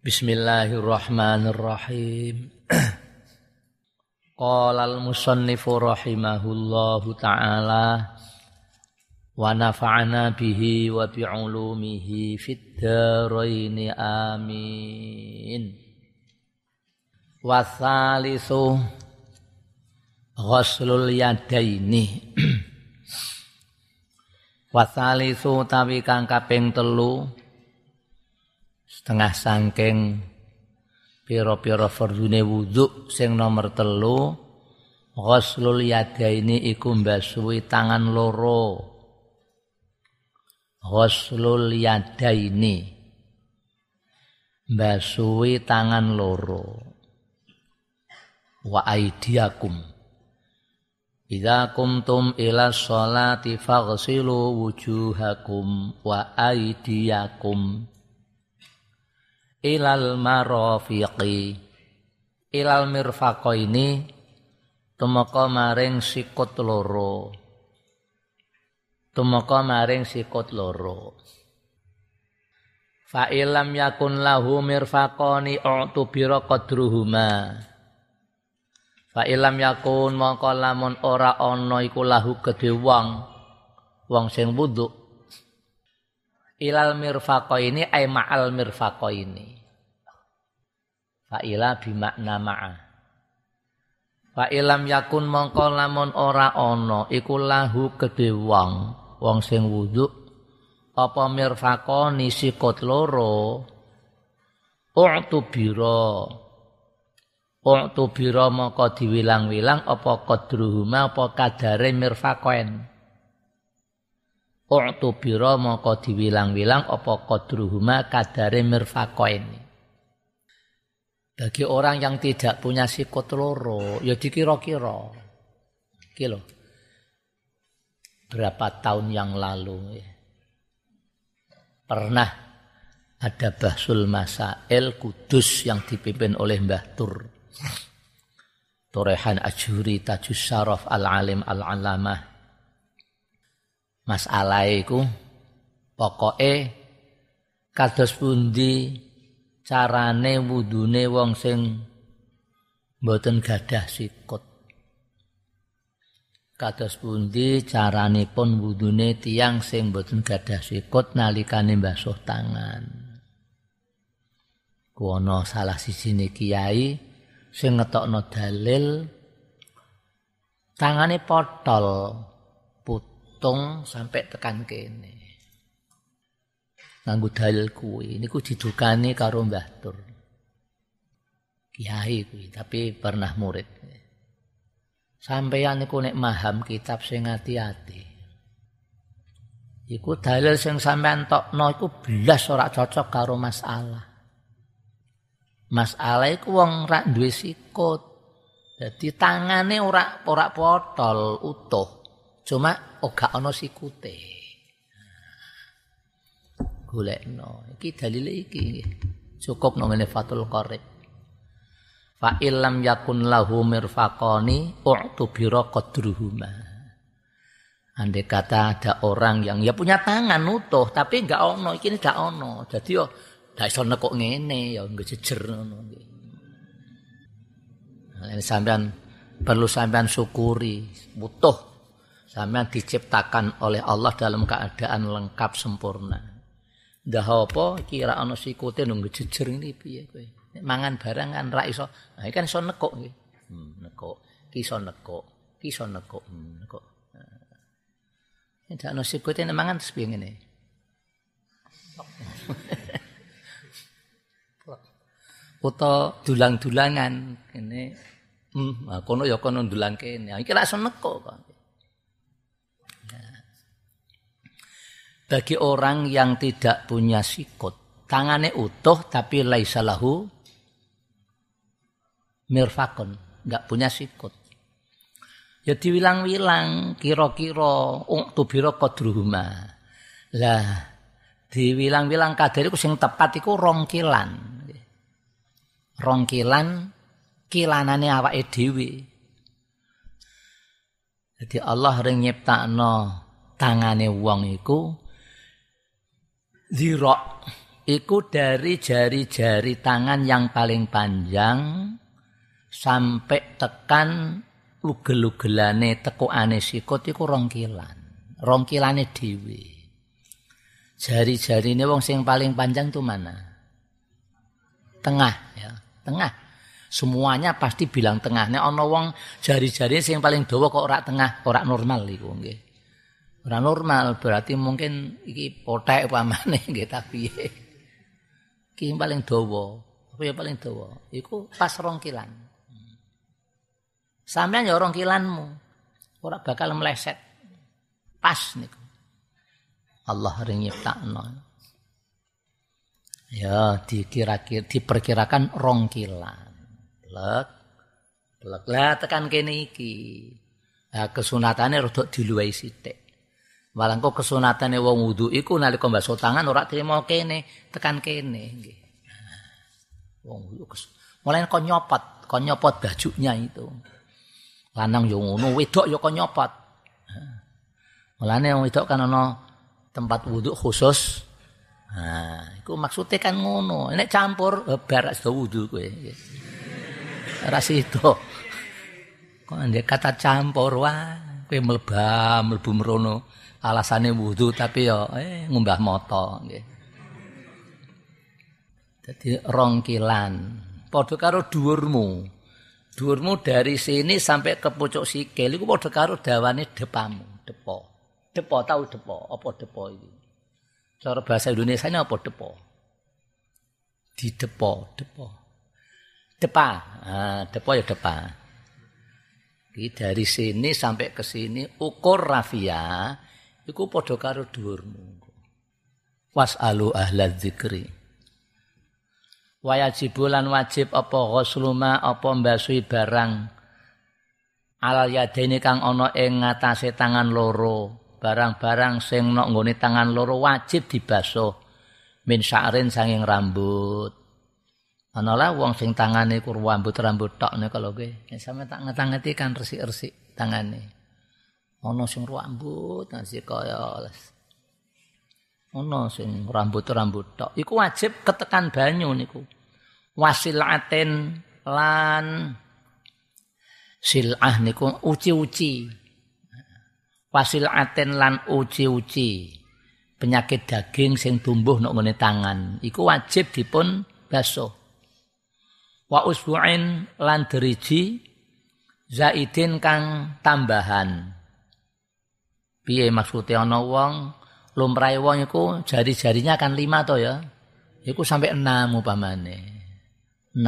Bismillahirrahmanirrahim. Qala al-musannifu rahimahullahu ta'ala wa nafa'ana bihi wa bi'ulumihi fid dharaini amin. Wa tsalitsu ghuslul yadaini. Wa tsalitsu tawi kang kaping 3 setengah sangking pira-pira fardune wudu sing nomor 3 ghuslul yadaini iku mbasuhi tangan loro. Ghuslul yadaini mbasuhi tangan loro. Wa aidiakum idza kumtum ila sholati faghsilu wujuhakum wa aidiakum ilal marafiqi ilal mirfaqaini tumeka maring sikut loro. Tumeka maring sikut loro. Fa illam yakun lahu mirfaqani u'tubira qadruhuma. Fa illam yakun mongko lamun ora ana iku lahu kedhe wong sing wudu ilal mirfaqaini ay ma'al mirfaqaini. Fa'ila bimakna ma'a. Fa'ilam yakun mongko lamun ora ana iku lahu kedhe wong sing wudu apa mirfaqani sikut loro u'tubira mongko diwilang-wilang apa qadruhuma apa kadare mirfaqain. U'tubira mongko diwilang-wilang apa qadruhuma kadare mirfaqain. Bagi orang yang tidak punya sikut loro, ya dikira-kira. Iki lho. Berapa tahun yang lalu ya. Pernah ada Bahsul Masail Kudus yang dipimpin oleh Mbah Turehan Ajuri Tajus Syaraf Al-Alim Al-Alamah. Masalah iku pokoke kados pundi carane wudune wong sing mboten gadah sikut. Kados pundi caranipun wudune tiyang sing mboten gadah sikut nalikane mbasuh tangan. Kuwi salah sijine kiai sing ngetokno dalil tangane potol putung sampai tekan kene. Nganggo dalil kuwi niku didukani karo Mbah Tur. Kiai kuwi tapi pernah murid. Sampeyan niku nek maham kitab sing ati-ati. Iku dalil sing sampean tokno iku blas ora cocok karo masalah. Masalah iku wong ora duwe sikut. Dadi tangane ora potol utuh. Cuma ora ana sikute. Golekno iki dalile iki cukup nang ngene Fathul Qarib. Fa illam yakun lahu mirfaqani u'tubira qadruhuma. Andai kata ada orang yang ya punya tangan utuh tapi enggak ono iki enggak ono. Dadi yo ndak iso nekuk ngene ya ngejejer ngono iki. Nah, sampean perlu sampean syukuri utuh. Sampean diciptakan oleh Allah dalam keadaan lengkap sempurna. Dah apa kira ana sikute nunggu jejer ngene piye kowe. Nek mangan barang kan ra iso. Nah iki kan iso nekuk nggih. Nekuk. Ki iso nekuk. Ki iso nekuk. Nekuk. Nek ana sikute nek mangan terus piye ngene. Foto dulang-dulangan kene. Kono ya kono dulang kene. Iki ra iso nekuk kok. Bagi orang yang tidak punya sikut, tangannya utuh tapi laisa lahu mirfaqun, enggak punya sikut. Ya diwilang-wilang kira-kira tubira qadruhuma. Lah diwilang-wilang kadare iku sing tepat iku 2 kilan. 2 kilan kilanane awake dhewe. Jadi Allah ring nyiptakno tangane wong iku zira iku dari jari-jari tangan yang paling panjang sampai tekan ugel-ugelane tekukane sikut iku rongkilan. Rongkilane dhewe. Jari-jarine wong sing paling panjang tuh mana? Tengah ya, tengah. Semuanya pasti bilang tengah. Nek ana wong jari-jarine sing paling dawa kok ora tengah, ora normal iku nggih. Ora normal berarti mungkin iki pothek upamane nggih ta piye. Iki paling dawa. Apa ya paling dawa? Iku pas rongkilan. Sampeyan ya rongkilanmu. Ora bakal meleset. Pas niku. Allah ring nyiptakno. Ya diperkirakan rongkilan. Blek. Lah tekan kene iki. Nah kesunatane rada diluwahi sithik. Walangko kesunatane wong wudu iku nalika mbasuh tangan ora trimo kene, tekan kene nggih. Wong wudu mulai kon nyopot bajunya itu. Lanang yo ngono, wedok yo kon nyopot. Mulane wong wedok kan ana tempat wudu khusus. Nah, iku maksude kan ngono. Nek campur bar sida wudu kowe. Ora sida. Kok ndek kata campur wae kowe mlebu mrono. Alasane wudu tapi yo ngumbah moto nggih. Dadi rongkilan. Padha karo dhuwurmu. Dhuwurmu dari sini sampai ke pucuk sikil iku padha karo dawane depamu, depo. Depo tahu depo, apa depo iki? Cara bahasa Indonesiane apa depo? Didepo, depo. Depa. Depo ya depa. Iki dari sini sampai ke sini ukur rafia iku padha karo dhuwurmu. Was'alu ahlaz dzikri. Wajibulan wajib apa ghusluma apa mbasuhi barang alal yadaini kang ana ing ngatasé tangan loro. Barang-barang sing nok nggone tangan loro wajib dibasuh min sya'rin sanging rambut. Ana lah wong sing tangane ku rambut tok nek kalau kowe sampe tak ngetangeti kan resik-resik tangane. Ana sing rambut sing kaya ana sing rambut tok. Iku wajib ketekan banyu niku. Wasilaten lan silah niku uci-uci. Wasilaten lan uci-uci. Penyakit daging sing tumbuh nek ngene tangan, iku wajib dipun basuh. Wa usbu'in lan deriji zaidin kang tambahan. Piye maksudnya ana wong lumrahe wong iku jari-jarinya kan 5 to ya. Iku sampai 6 upamane. 6.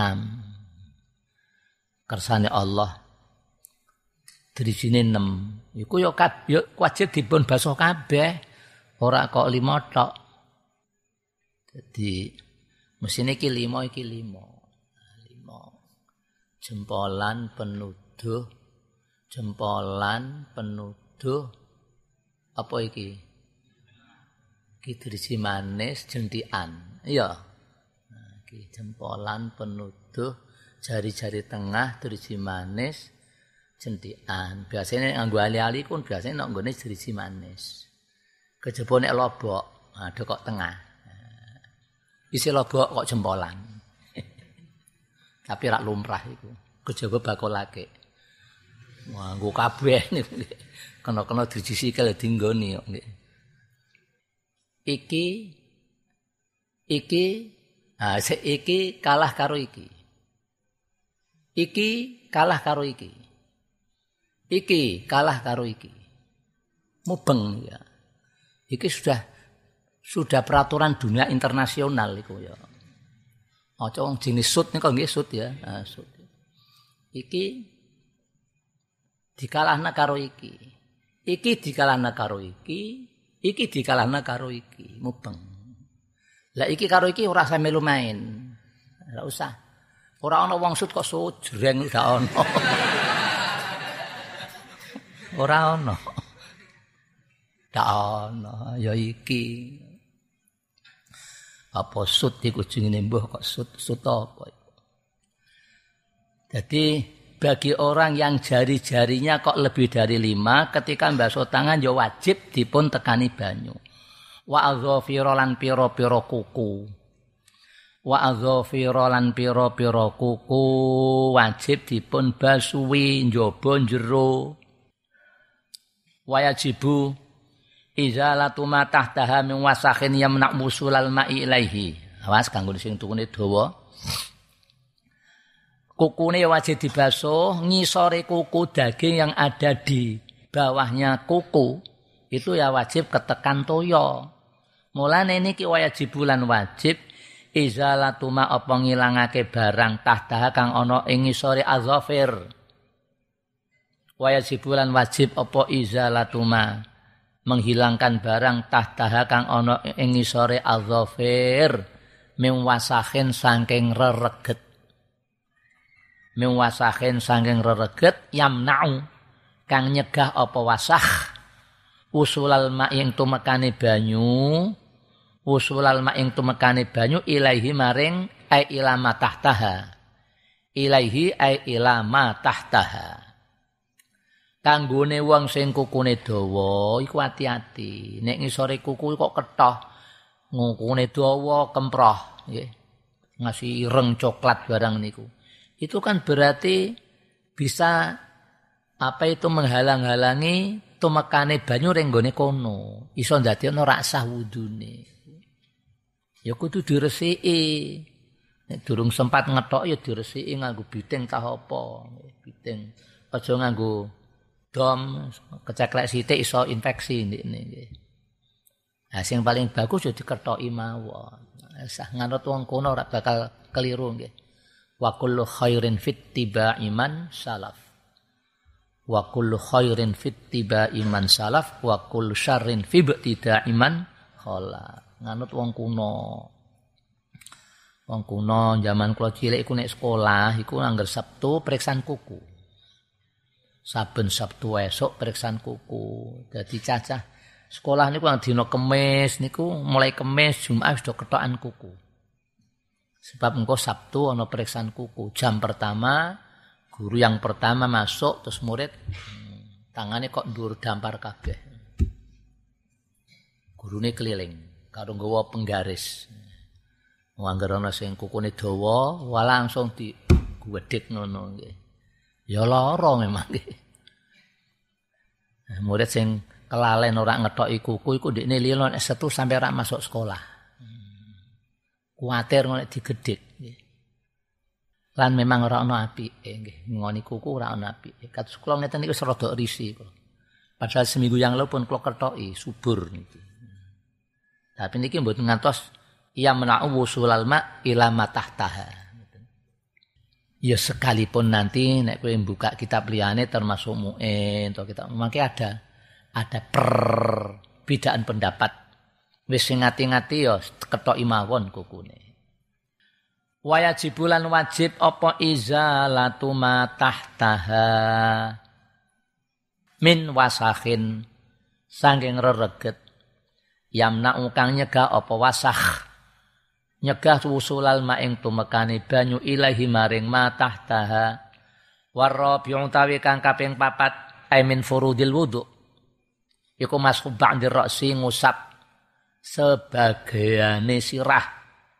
Kersane Allah. Dirijine 6. Iku ya wajib dipun basuh kabeh. Ora kok 5 tok. Jadi mesine iki 5 iki 5. 5. Jempolan penuduh. Apa iki? Iki driji manis jentikan. Iya. Iki jempolan penuduh, jari-jari tengah driji manis jentikan. Biasane nganggo ali-ali kun biasane nek nggone driji manis. Kejaba nek lobok, ada kok tengah. Isi lobok kok jempolan. Tapi rak lumrah iku. Kejaba bakolake. Nganggo kabeh niku. Kena-kena driji sikil dinggoni kok nggih. Iki kalah karo iki. Iki kalah karo iki. Iki kalah karo iki. Mubeng ya. Iki sudah peraturan dunia internasional iku ya. Aja wong jenis sut niku nggih sut ya. Sut. Iki dikalahna karo iki. Iki dikalahna karo iki. Iki dikalahna karo iki. Mubeng. Lah iki karo iki ora usah melu main. Ora usah. Ora ana wong sut kok sujreng gak ana. Ora ana. Gak ana ya iki. Apa sut iku jenenge mbah kok sut apa. Jadi bagi orang yang jari-jarinya kok lebih dari 5 ketika mbasuh tangan ya wajib dipun tekani banyu. Wa azafira lan pira-pira kuku. wa adzafira lan pira-pira kuku wajib dipun basuhi njaba njero wayajibu izalatu ma tahtaha min wasakhin yamna wusulal ma'i ilaihi. Awas kanggo sing tukune dawa. Kukune wajib dibasuh, ngisore kuku daging yang ada di bawahnya kuku itu ya wajib ketekan toya. Mulane niki wajibulan wajib izalatu ma apa ngilangake barang tahtaha kang ana ing ngisore azafir. Wajibulan wajib apa izalatu ma menghilangkan barang tahtaha kang ana ing ngisore azafir min wasakhin saking rereget. Min wasakhin saking rereget yamna'u kang nyegah apa wasakh usulal ma'ing tumekane banyu usulal ma'ing tumekane banyu ilaihi maring ai ilama tahtaha ilaihi ai ilama tahtaha kanggone wong sing kukune dawa iku ati-ati nek ngisore kuku kok ketoh ngukune dawa kemproh nggih ngasih ireng coklat barang niku itu kan berarti bisa apa itu menghalang-halangi tumekane banyu ning gone kono iso ndadekno ra sah wudune. Ya kudu diresiki. Nek durung sempat ngethok ya diresiki nganggo biting tah apa. Biting. Aja nganggo dom keceklek sithik iso infeksi ndekne nggih. Nah sing paling bagus ya dikethoki mawon. Sah nganut wong kono ora bakal keliru nggih. Wa kullu khairin fittiba'i man salaf. Wa kullu khairin fittiba'i man salaf wa kullu syarrin fi ibtida'i man khala. Nganut wong kuno. Wong kuno zaman kula cilik iku nek sekolah iku angger Sabtu periksaan kuku. Saben Sabtu esuk periksaan kuku. Dadi cacah sekolah niku ang dina Kemis niku mulai Kemis Jumat sudah ketokan kuku. Sebab engko Sabtu ana periksaan kuku. Jam pertama guru yang pertama masuk terus murid tangane kok ndur dampar kabeh. Gurune keliling karo nggawa penggaris. Angger ana sing kukune dawa, langsung digwedhik ngono nggih. Ya lara memang nggih. Murid sing kelalen ora ngethoki kuku iku ndekne lilo nek Setu sampai ora masuk sekolah. Kuwatir nek digedhik nggih. Lan memang ora ana apike nggih. Ngoni kuku ora ana apike. Kados kula ngeten iki wis rada risi kula. Padahal seminggu yang lalu pun kula kethoki subur niki. Tapi niki mboten ngantos ya mena'u wusulal ma ila matahtaha. Ya sekalipun nanti nek kowe buka kitab liyane termasuk mu'in atau kita mangke ada perbedaan pendapat. Wis sing ngati-ngati ya kethoki mawon kukune. Wajibulan wajib apa izalatu ma tahtaha min wasakhin saking rereget yamna'u kang nyegah apa wasakh nyegah wusulal ma'ing tumekane banyu ilahi maring ma tahtaha warabi'u tawi kang kaping 4 ai min furudil wudu iku mashu ba'dir ra'si ngusap sebagiane sirah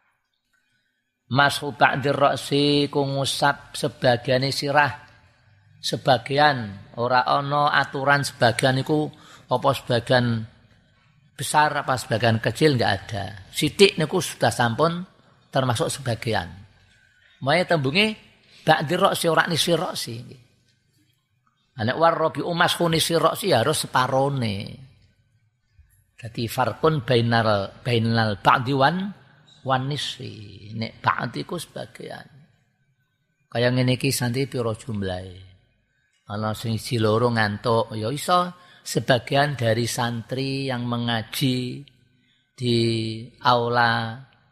mashu ba'dir ra'si ku ngusap sebagiane sirah sebagian ora ana aturan sebagian iku apa sebagian besar apa sebagian kecil enggak ada. Sithik niku sudah sampun termasuk sebagian. Mae tembunge ba'dir ra'si ora nisi ra'si. Nek warabi umas nisi ra'si harus separone. Dadi farqun bainal ba'di wan nisfi. Nek ba'di ku sebagian. Kaya ngene iki santi pira jumlahe. Ana sing siji loro ngantuk ya iso sebagian dari santri yang mengaji di aula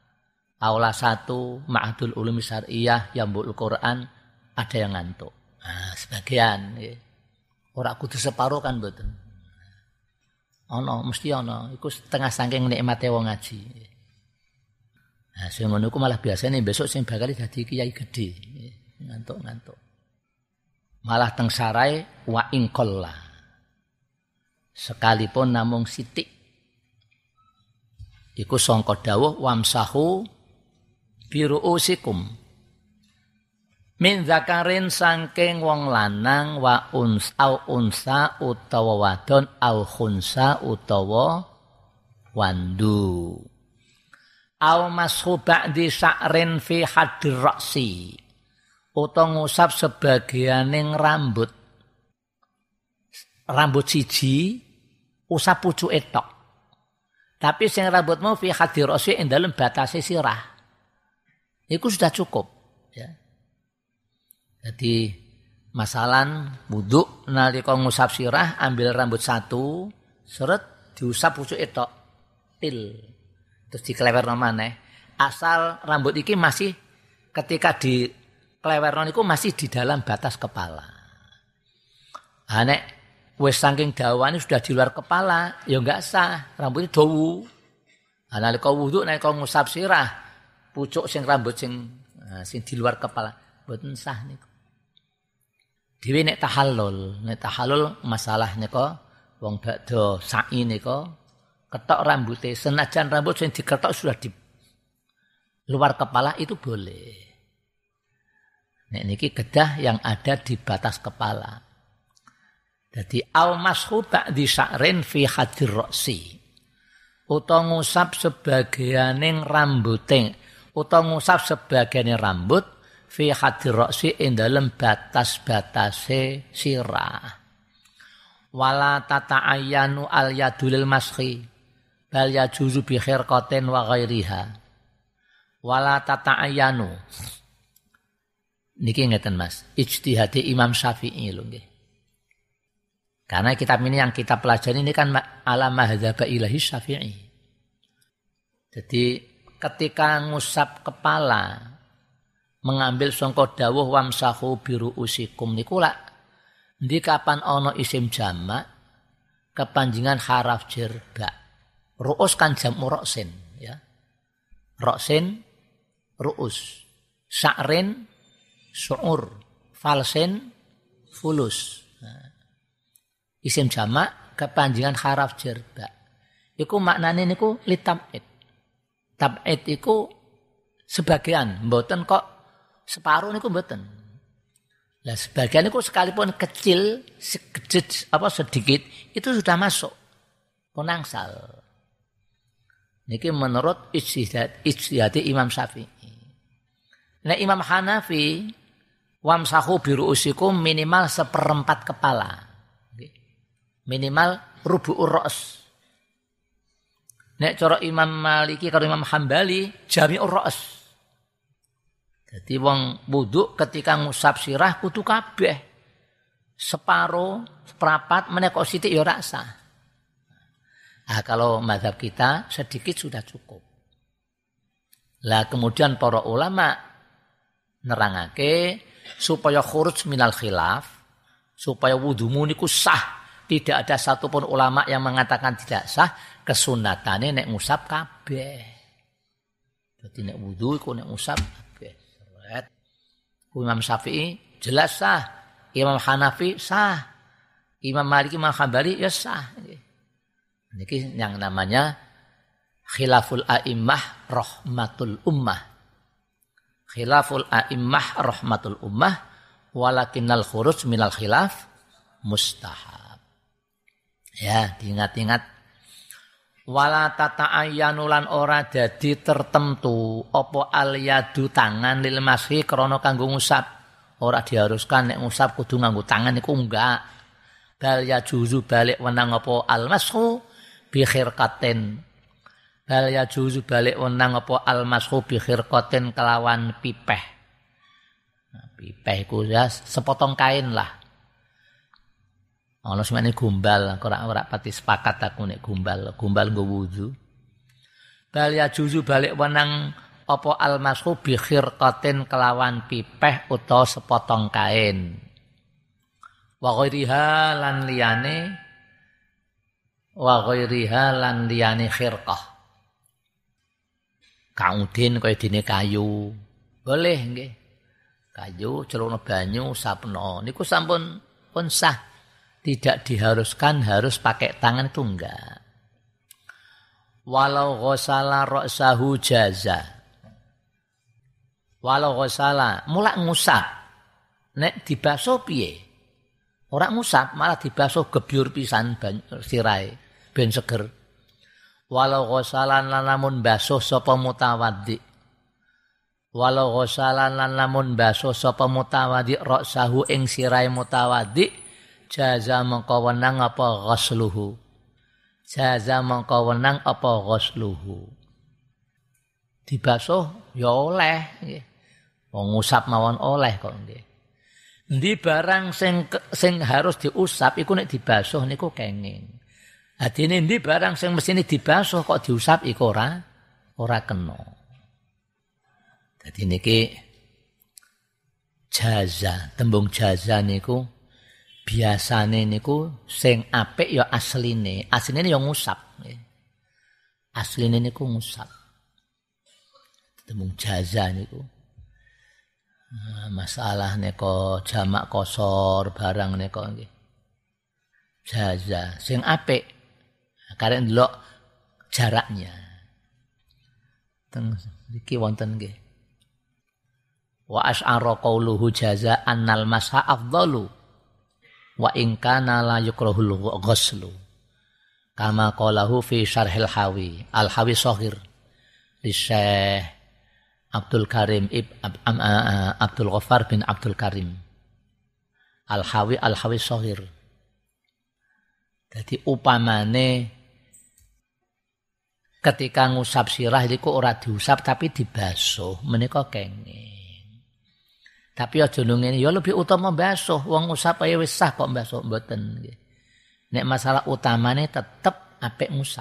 1 Ma'hadul Ulum Syar'iyyah Yambul Quran ada yang ngantuk. Nah, sebagian nggih. Ora kudu separo kan mboten. Ana mesti ana iku setengah saking nikmate wong ngaji. Nah, sing ngono iku malah biasane besok sing bakal dadi kiai gedhe. Ngantuk-ngantuk. Malah teng sarai wa ingqalla. Sekalipun namung sithik iku sangka dawuh wamsahu biruusikum min zakarin saking wong lanang wa unsa utawa wadon au khunsa utawa wandu au mashu ba'di sya'rin fi hadir ra'si utawa ngusap sebagianing rambut siji usap pucuke tok. Tapi sing rambutmu fi hadir ra'si ing dalem batase sirah. Iku sudah cukup, ya. Jadi masalan wudu nalika ngusap sirah ambil rambut satu, seret diusap pucuke tok. Til. Terus diklewerno maneh. Asal rambut iki masih ketika diklewerno niku masih di dalam batas kepala. Nek wis saking dawane sudah di luar kepala, ya enggak sah, rambutnya dawu. Nalika wudu nalika ngusap sirah, pucuk sing rambut sing di luar kepala, mboten sah niku. Dhewe nek tahallul masalah nika wong badha sa'i nika ketok rambute, senajan rambut sing diketok sudah di luar kepala itu boleh. Nek niki kedah yang ada di batas kepala. Jadi au mashu ba'di sya'rin fi hadir ra'si. Utawa ngusap sebagianing rambuting, utawa ngusap sebagiane rambut fi hadir ra'si ing dalem batas-batase sirah. Wala tata'ayyanu al yadul mashi bal yajuzu bi khirqatin wa ghairiha. Wala tata'ayyanu. Niki ngeten Mas, ijtihad Imam Syafi'i lho nggih. Karena kitab ini yang kita pelajari ini kan ala madzhab ilahi Syafi'i. Jadi ketika ngusap kepala mengambil sangka dawuh wamsahu biruusikum niku lak ndi kapan ana isim jamak kepanjingan haraf jar ba. Ruus kan jamu ra'sin ya. Ra'sin ruus. Sya'rin su'ur. Falsin fulus. Isim jamak kepanjangan haraf jar ba. Iku maknane niku litab'id. Tab'id iku sebagian, mboten kok separuh niku mboten. Lah sebagian niku sekalipun kecil, sedikit itu sudah masuk penangsal. Niki menurut ijtihad Imam Syafi'i. Nah Imam Hanafi wamsahu biruusikum minimal 1/4 kepala. Minimal rubu'ur ra's. Nek cara Imam Maliki karo Imam Hambali jami'ur ra's. Jadi wong wudu ketika ngusap sirah kudu kabeh. Separo, seprapat menekok sithik ya ora sah. Kalau mazhab kita sedikit sudah cukup. Lah kemudian para ulama nerangake supaya khuruj minal khilaf, supaya wudumu niku sah. Tidak ada satupun ulama yang mengatakan tidak sah, kesunatannya nek ngusap kabeh. Jadi nek wudu iku nek ngusap kabeh. Seret. Imam Syafi'i jelas sah, Imam Hanafi sah, Imam Maliki, Imam Hambali ya sah. Niki yang namanya khilaful a'immah rahmatul ummah. Khilaful a'immah rahmatul ummah walakinnal khuruj minal khilaf mustahab. Ya, diingat-ingat. Wala tata'ayyanu lan ora dadi tertentu apa al yadu tangan lil mashi krana kanggo ngusap. Ora diharuskan nek ngusap kudu nganggo tangan iku enggak. Bal ya juzu balik wenang apa al mashu bi khirqatin. Bal ya juzu balik wenang apa al mashu bi khirqatin kelawan pipeh. Nah, pipeh iku ya sepotong kain lah. Ana semene gombal, ora pati sepakat aku nek gombal nggo wudu. Bal ya juzu balik wenang apa almashu bi khirqatin kelawan pipeh utawa sepotong kain. Wa ghairiha lan liyane khirqah. Kaudin kaya dene kayu. Boleh nggih. Kayu celana banyu sapno niku sampun pun sah. Tidak diharuskan harus pakai tangan itu enggak. Walau ghasala ra'sahu jaza. Walau ghasala mulak ngusap. Nek dibasuh piye? Ora ngusap malah dibasuh gebyur pisan sirahe ben seger. Walau ghasalan lan lamun basuh sapa mutawaddi. Walau ghasalan lan lamun basuh sapa mutawaddi ra'sahu ing sirahe mutawaddi jaza mengko wenang apa ghasluhu. Jaza mengko wenang apa ghasluhu. Dibasuh ya oleh nggih. Wong ngusap mawon oleh kok nggih. Endi barang sing harus diusap iku nek dibasuh niku kenging. Adine endi barang sing mestine dibasuh kok diusap iku ora kena. Dadi niki jaza, tembung jaza niku biasane niku sing apik ya asline. Asline ya ngusap nggih. Asline niku ngusap. Tembung jaza niku masalah neko jamak kosor barang neko nggih. Jaza sing apik karek ndelok jaraknya. Teng iki wonten nggih. Wa asy'ara qauluhu jaza annal masha afdalu wa in kana la yukrahul ghuslu. Kama qalahu fi syarhil hawi. Al-Hawi Shaghir li Syekh Abdul Karim Abdul Ghaffar bin Abdul Karim. Al-Hawi Shaghir. Jadi upamane ketika ngusap sirah iku ora diusap tapi dibasuh menika kenging. Tapi aja ngene ya lebih utama basuh wong ngusap ae wis sah kok basuh mboten nggih. Nek masalah utamane tetep apik ngusap.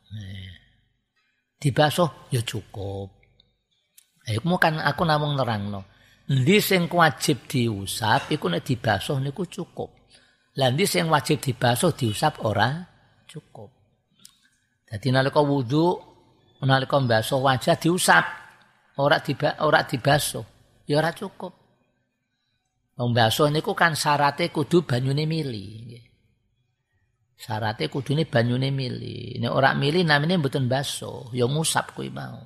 Dibasuh ya cukup. Iku kan aku namung nerangno. Endi sing wajib diusap iku nek dibasuh niku cukup. Lah endi sing wajib dibasuh diusap ora cukup. Dadi nalika wudu, nalika mbasuh wajah diusap, ora dibasuh, ya ora cukup. Wong mbasuh niku kan syaraté kudu banyune mili. Syaraté kudune banyune mili. Nek ora mili namine mboten basuh, ya ngusap kuwi mau.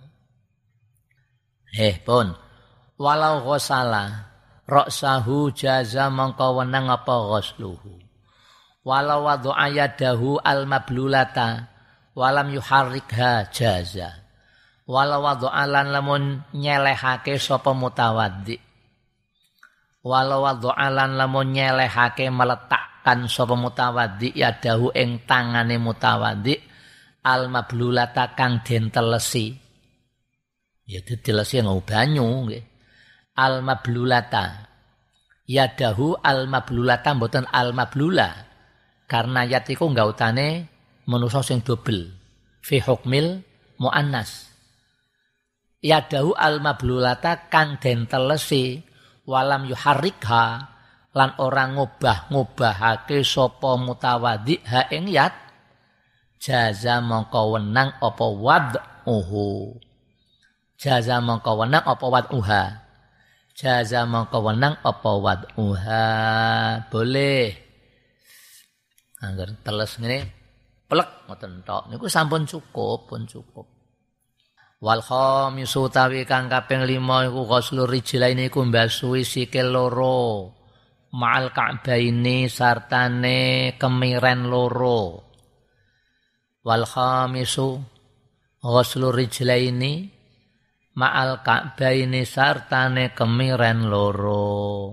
Pun walau ghasala ra'sahu jaza mangka wenang apa ghasluhu. Walau wad'a yadahu al-mablulata walam yuharrikha jaza. Walau wad'a lan lamun nyelehake sapa mutawaddi. Walau wad'a lan lamun nyelehake meletakkan sapa mutawaddi yadahu ing tangane mutawaddi al-mablulata kang den telesi. Ya ditelesi nggo banyu nggih. Al-mablulata. Yadahu al-mablulata mboten al-mablula. Karena yat iku nggautane manusa sing dobel. Fi hukmil muannas. Yadahu al-mablulata kang den telesi walam yuharrikha lan ora ngubah-ngubahake sapa mutawaddi ha ing yat jaza mongko wenang apa wad'uhu. Jaza mongko wenang apa wad'uha. Jaza mongko wenang apa wad'uha. Boleh. Angger teles ngene plek ngoten tok niku sampun cukup, pun cukup. Wal khamisu tawi kang kaping 5 iku ghuslur rijlaini iku mbasuhi sikil loro ma'al ka'baini sartane kemiren loro. Wal khamisu ghuslur rijlaini ma'al ka'baini sartane kemiren loro.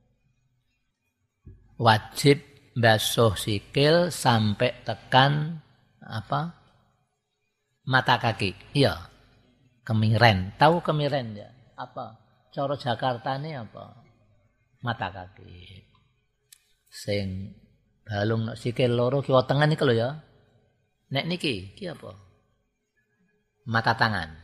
Wajib basuh sikil sampai tekan apa? Mata kaki. Iya. Kemiren. Tahu kemiren ya? Apa? Cara Jakartane apa? Mata kaki. Sing balung sikil loro kiwa tengen iki lho ya. Nek niki iki apa? Mata tangan.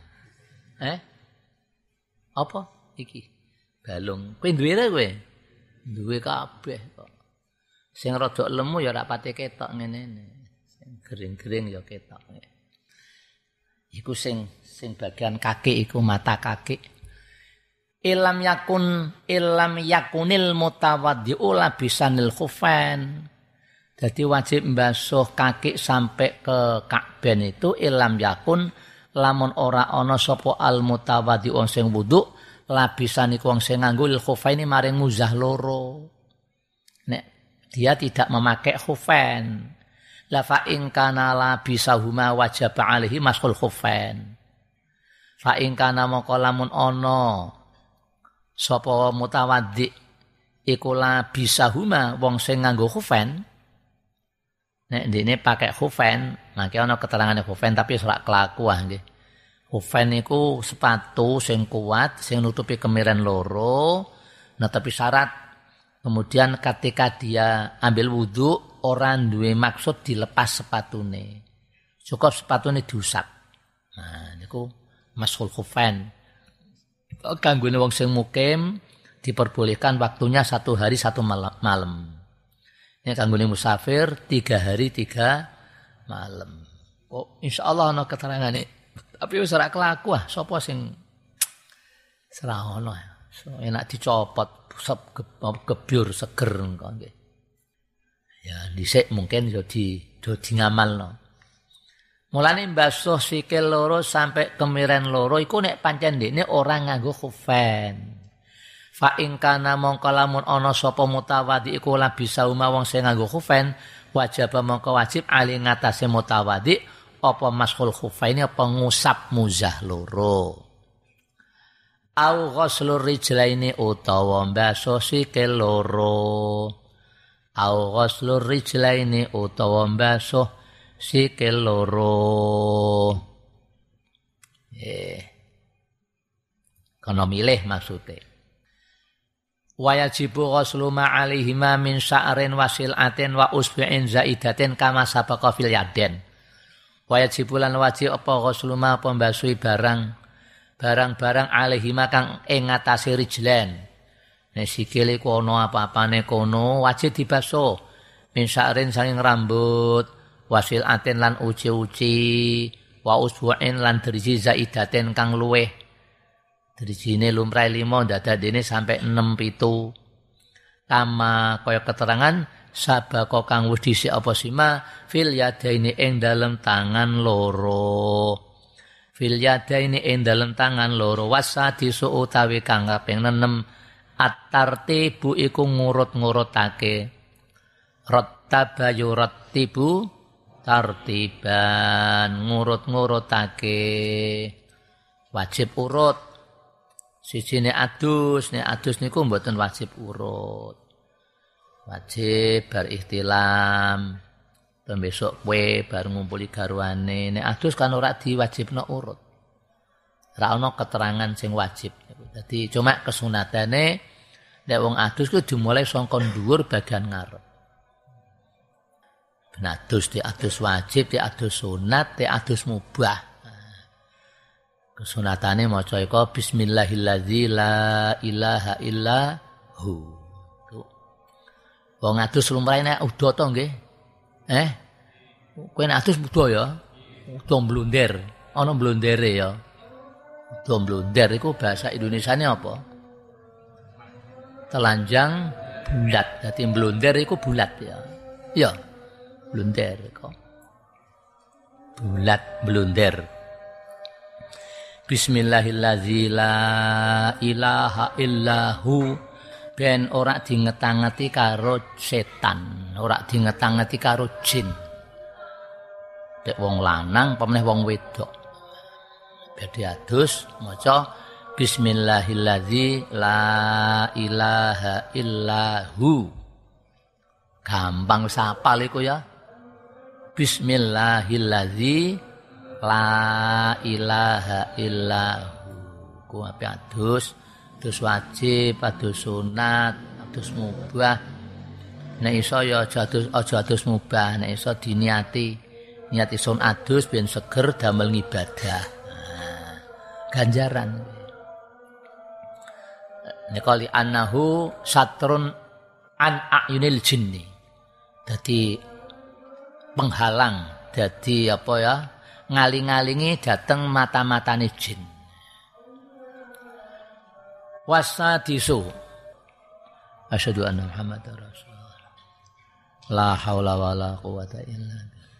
Apa iki? Balung. Kowe duwe ta kowe? Duwe kabeh kok. Sing rada lemu ya ora pati ketok ngene. Sing gering-gering ya ketok. Iku sing bagian kaki iku mata kaki. Ilam yakunil mutawaddi'u labisanil khufain. Jadi wajib mbasuh kaki sampai ke Ka'ben itu ilam yakun lamun ora ana sapa al mutawaddi'u sing wudu labisan iku wong sing nganggo lil khufaini maring muzah loro. Nek dia tidak memakai khufain. La fa in kana labisahuma wajib alaihi mashul khufain. Fa in kana moko lamun ana sapa mutawaddi iku labisahuma wong sing nganggo khufain. Nek dene pakai khufain, mangke ana keterangane khufain tapi ora kelaku nggih. Khufain niku sepatu sing kuat, sing nutupi kemiren loro, tapi syarat kemudian ketika dia ambil wudhu, orang duwe maksud dilepas sepatune. Cukup sepatune diusap. Nah, niku mashul khufain. Kanggone wong sing mukim diperbolehkan waktunya 1 hari 1 malam. Ini kanggone musafir 3 hari 3 malam. Oh, insyaallah ana keterangane. Tapi wis ora kelaku sapa sing ora ono. So, enak dicopot gebyur seger engko nggih. Ya dhisik mungkin yo do ngamalno. Mulane mbasuh sikil loro sampai kemiren loro iku nek pancen ndekne ora nganggo khufain. Fa in kana mongko lamun ana sapa mutawaddi iku labisa wong sing nganggo khufain wajib mongko wajib ali ngatasé mutawaddi apa mashul khufaini apa ngusap muzah loro. Au ghuslur rijlaini utawa mbasuh sikil loro. Au ghuslur rijlaini utawa mbasuh sikil loro. Kono milih maksude. Wa yajibu ghuslu ma alaihima min sya'rin wasilatin wa usbi'in zaidatin kama sabaqa fil yaden. Wajib lan wajib apa ghuslu ma pembasuhi barang-barang alaihima kang ing ngatasi rijlan. Nek sikile ku ana apa-apane kono wajib dibasuh. Min sya'rin saking rambut, wasil atin lan uci-uci, wa usbu'in lan driji zaidaten kang luweh. Drijine lumrah 5 dadadene sampai 6 7. Kama kaya keterangan sabako kang wis dhisik apa sima fil yadaini ing dalem tangan loro. Fil yadaini ing dalem tangan loro wasadisu utawi kang kaping 6 at-tartibu iku ngurut-ngurutake. Rattaba yurattibu tartiban ngurut-ngurutake. Wajib urut. Sijine adus, nek adus niku mboten wajib urut. Wajib bar ihtilam. Besok kowe bar ngumpuli garwane. Nek adus kan ora diwajibno urut. Ora ana keterangan sing wajib. Dadi cuma kesunatane nek wong adus ku dimulai saka dhuwur bagian ngarep. Ben adus di adus wajib, di adus sunat, di adus mubah. Kesunatane maca iku bismillahilladzi la ilaha illa hu. Wong adus lumrahe nek udo to nggih. Kowe nek adus udo ya. Udo mblonder. Ana mblondere ya. Udo mblonder iku bahasa Indonesiane apa? Telanjang bulat. Dadi mblonder iku bulat ya. Ya. Blunder kok. Bulat blunder. Bismillahilladzi la ilaha illahu ben ora dingetangeti karo setan, ora dingetangeti karo jin. Dek wong lanang apa meneh wong wedok. Badhe adus maca bismillahilladzi la ilaha illahu. Gampang sapal iku ya. Bismillahilladzi la ilaha illahu. Ku ape adus wajib, adus sunat, adus mubah. Nek iso ya aja adus mubah, nek iso diniati sun adus ben seger damel ngibadah. Nah, ganjaran. Nek kali annahu satrun an ayunil jinni. Dadi penghalang, dadi apa ya? Ngaling-ngalingi dateng mata-matane jin. Wasadisu asyhadu anna Muhammadar Rasulullah. La haula wala quwata illa billah.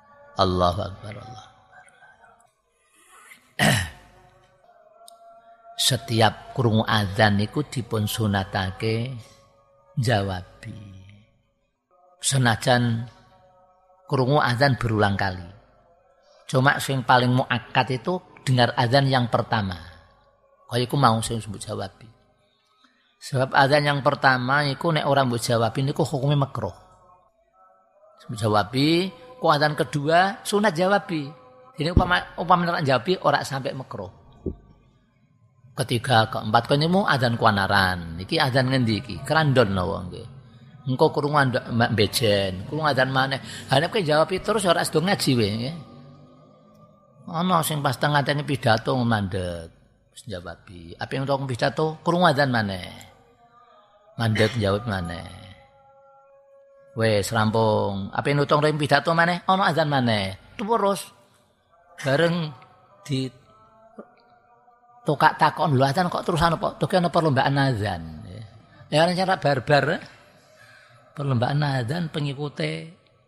Allahu akbar Allah. setiap krungu adzan niku dipun sunatake jawabi. Senajan krungu adzan berulang kali. Cuma sing paling muakkad itu dengar adzan yang pertama. Kaya iku mau sing sebut jawabi. Sebab adzan yang pertama iku nek ora mbok jawabi niku hukume makruh. Sebut jawabi, ku adzan kedua sunat jawabi. Ini upama nek jawabi ora sampai makruh. Ketiga, keempat kene mu adzan kuanaran. Iki adzan ngendi iki? Krandon napa nggih. Engko krungu mbak bejen, krungu adzan maneh. Ha nek jawab terus ora sedo ngaji we nggih. Ana sing pas tengah-tengah pidato mandeg, wis jawabi. Apa yang untuk pidato krungu adzan maneh. Mandeg jawab maneh. Wes rampung. Apa yang nutung pidato maneh? Ana adzan maneh. Terus bareng di tokak takon lho adzan kok terusan apa? Tuh ana perlombaan adzan. Ya cara barbar. Perlombaan adzan pengikute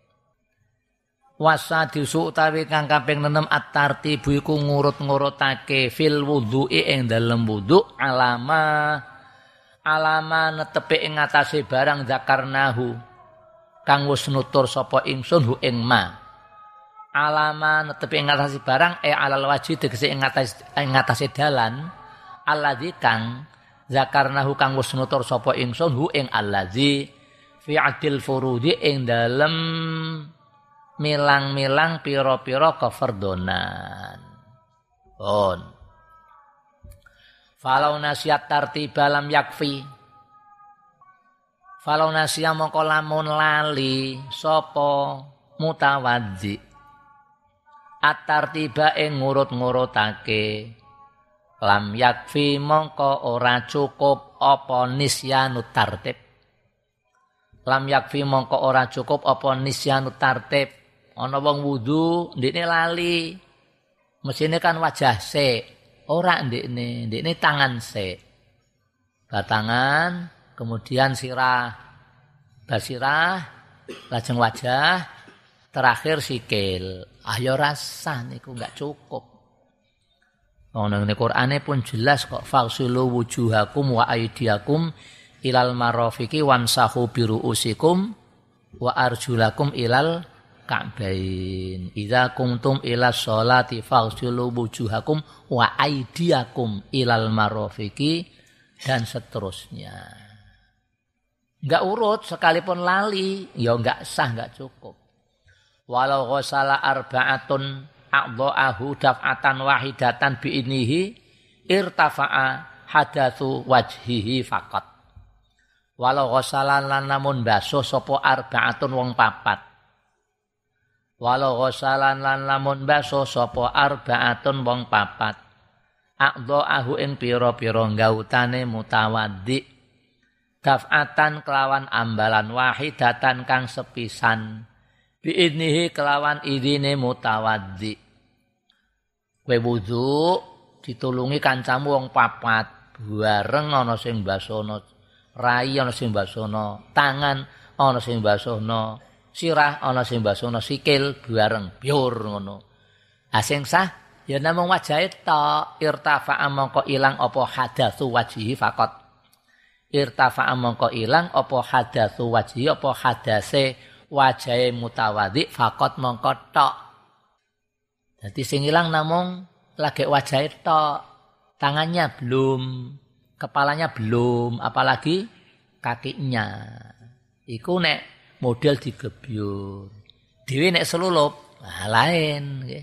wasa disu utawi kang kaping 6 at-tartibu iku ngurut-ngurutake fil wudhu'i ing dalem wudhu alama netepi ing ngatasé barang zakarnahu kang wis nutur sapa ingsun hu ing ma. Alama netepi ing ngatasé barang alal wajhi tegese ing ngatasé dalan alladzi kang zakarnahu kang wis nutur sapa ingsun hu ing alladzi fi adil furudi ing dalem milang-milang pira-pira kefardonan. On. Falau nasiat tartiba lam yakfi. Falau nasia mongko lamun lali sapa mutawaddi. At-tartiba ing ngurut-ngurutake lam yakfi mongko ora cukup apa nisyanut tartib. Lam yakfi mongko ora cukup apa nisyanut tartib. Ana wong wudu ndekne lali. Mesine kan wajah sik, ora ndekne tangan sik. Batangan, kemudian sirah. Basirah, lajeng wajah, terakhir sikil. Ayo rasa niku enggak cukup. Ana ning Qur'ane pun jelas kok faghsilu wujuhakum wa aydiyakum ilal marafiqi wamsahu biruusikum wa arjulakum ilal ka'bain. Idza kuntum ila sholati faghsilu wujuhakum wa aydiyakum ilal marafiqi dan seterusnya. Enggak urut sekalipun lali, ya enggak sah, enggak cukup. Walau ghasala arba'atun a'dha'ahu daf'atan wahidatan bi'inihi irtafa'a hadatsu wajhihi faqat. Walau ghasalan lan namun basuh sapa arba'atun wong papat. Walau ghasalan lan lamun basuh sapa arba'atun wong papat. A'dha'ahu ing pira-pira gautane mutawaddi. Daf'atan kelawan ambalan wahidatan kang sepisan. Bi'idnihi kelawan idine mutawaddi. Kowe wudu ditulungi kancamu wong papat, bareng ana sing basono rai, ana sing basono tangan, ana sing basono sirah, ana sing basono sikil bareng biur ngono. Ha sing sah ya namung wajahe tok, irtafa'a mongko ilang apa hadatsu wajhi faqat. Irtafa'a mongko ilang apa hadatsu wajhi apa hadase wajahe mutawaddi faqat mongko tok. Dadi sing ilang namung lagi wajahe tok, tangannya belum, kepalanya belum, apalagi kakinya. Iku nek model digebyur. Dhewe nek selulup, nah lain nggih.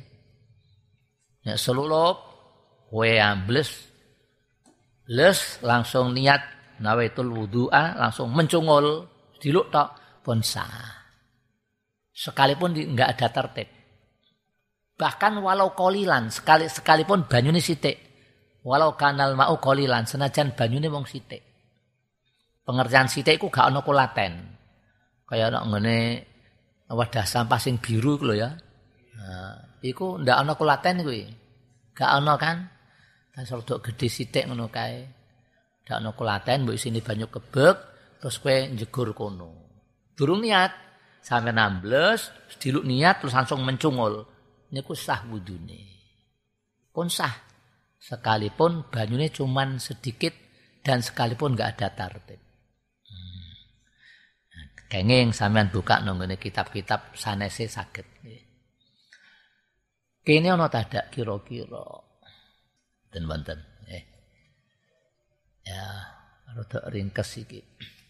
Nek selulup kowe ambles langsung niat nawaitul wudu'a langsung mencungul diluk tok pun sah. Sekalipun enggak ada tertib. Bahkan walau kolilan sekalipun banyune sithik. Walau kanal mau kolilan senajan banyune wong sithik. Pengertian sithik iku gak ana kulaten. Kaya ana ngene wadah sampah sing biru iku lho ya. Nah, iku ndak ana kulaten kuwi. Gak ana kan? Tas rodok gedhe sithik ngono kae. Ndak ana kulaten mbok isine banyu kebek terus kowe njegur kono. Durung niat sampe nambles, diluk niat terus langsung mencungul. Niku sah wudune. Pun sah. sekalipun banyune cuman sedikit dan sekalipun enggak ada tartib. Kenging sampean buka nang ngene kitab-kitab sanese saged. Kene ana tadak kira-kira. Den wonten. Ya, rada ringkes iki.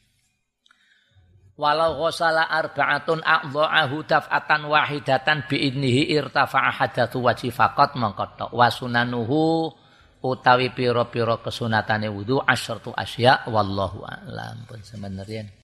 Walau ghusala arba'atun a'dha'ahu daf'atan wahidatan bi'idnihi irtafa'a hadatsu wajhi faqat mangkata wa sunanuhu utawi pira-pira kesunatane wudu asyartu asya wallahu a'lam pun semenerian.